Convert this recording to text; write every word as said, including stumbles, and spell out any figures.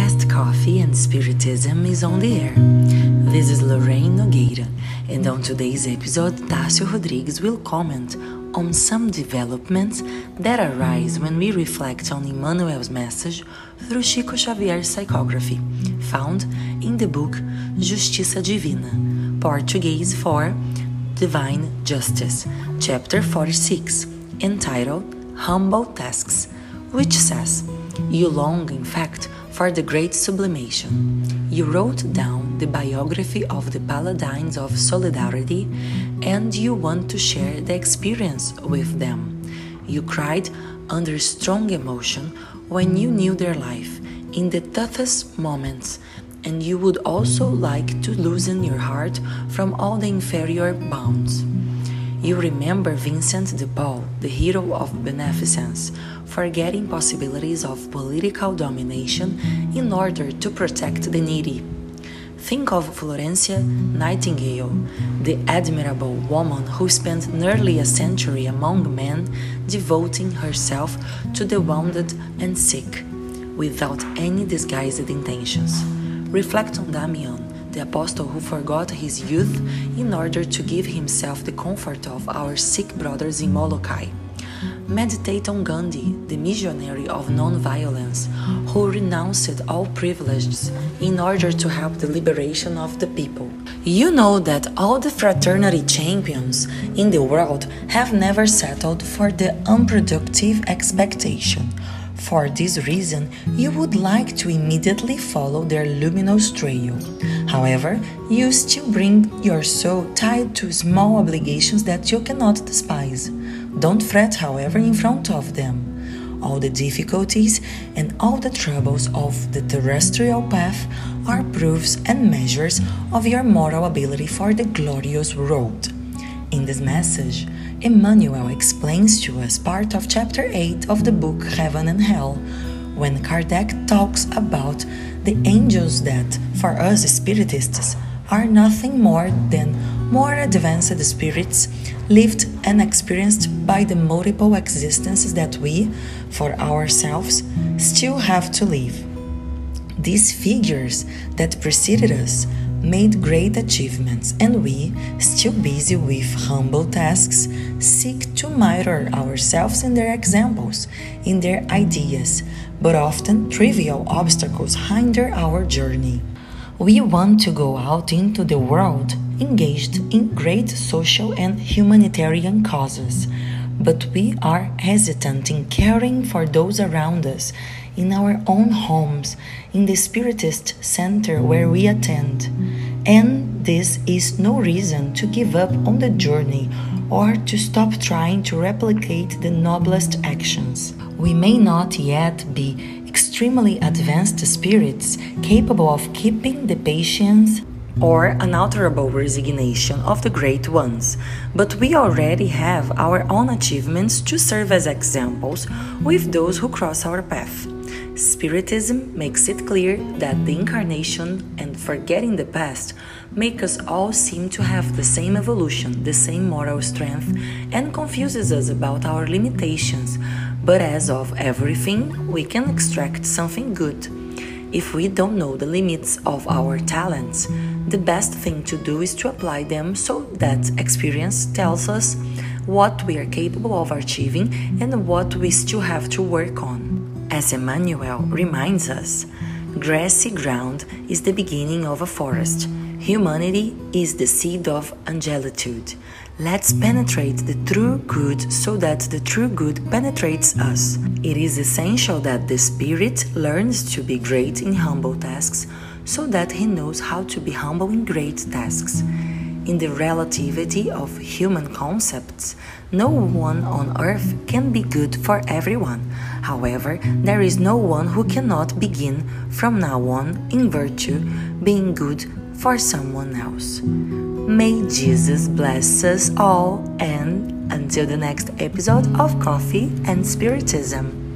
podcast Coffee and Spiritism is on the air. This is Lorraine Nogueira, and on today's episode, Tássio Rodrigues will comment on some developments that arise when we reflect on Emmanuel's message through Chico Xavier's psychography, found in the book Justiça Divina, Portuguese for Divine Justice, chapter forty-six, entitled Humble Tasks, which says, "You long, in fact, for the great sublimation. You wrote down the biography of the Paladins of Solidarity, and you want to share the experience with them. You cried under strong emotion when you knew their life, in the toughest moments, and you would also like to loosen your heart from all the inferior bounds. You remember Vincent de Paul, the hero of beneficence, forgetting possibilities of political domination in order to protect the needy. Think of Florencia Nightingale, the admirable woman who spent nearly a century among men, devoting herself to the wounded and sick, without any disguised intentions. Reflect on Damian, the apostle who forgot his youth in order to give himself the comfort of our sick brothers in Molokai. Meditate on Gandhi, the missionary of non-violence, who renounced all privileges in order to help the liberation of the people. You know that all the fraternity champions in the world have never settled for the unproductive expectation. For this reason, you would like to immediately follow their luminous trail. However, you still bring your soul tied to small obligations that you cannot despise. Don't fret, however, in front of them. All the difficulties and all the troubles of the terrestrial path are proofs and measures of your moral ability for the glorious road. In this message, Emmanuel explains to us part of chapter eight of the book Heaven and Hell, when Kardec talks about the angels that, for us Spiritists, are nothing more than more advanced spirits lived and experienced by the multiple existences that we, for ourselves, still have to live. These figures that preceded us made great achievements, and we, still busy with humble tasks, seek to mirror ourselves in their examples, in their ideas, but often trivial obstacles hinder our journey. We want to go out into the world engaged in great social and humanitarian causes, but we are hesitant in caring for those around us, in our own homes, in the Spiritist center where we attend. And this is no reason to give up on the journey or to stop trying to replicate the noblest actions. We may not yet be extremely advanced spirits capable of keeping the patience or unalterable resignation of the great ones, but we already have our own achievements to serve as examples with those who cross our path. Spiritism makes it clear that the incarnation and forgetting the past make us all seem to have the same evolution, the same moral strength, and confuses us about our limitations, but as of everything, we can extract something good. If we don't know the limits of our talents, the best thing to do is to apply them so that experience tells us what we are capable of achieving and what we still have to work on. As Emmanuel reminds us, grassy ground is the beginning of a forest. Humanity is the seed of angelitude. Let's penetrate the true good so that the true good penetrates us. It is essential that the spirit learns to be great in humble tasks so that he knows how to be humble in great tasks. In the relativity of human concepts, no one on earth can be good for everyone. However, there is no one who cannot begin from now on, in virtue, being good for someone else. May Jesus bless us all, and until the next episode of Coffee and Spiritism.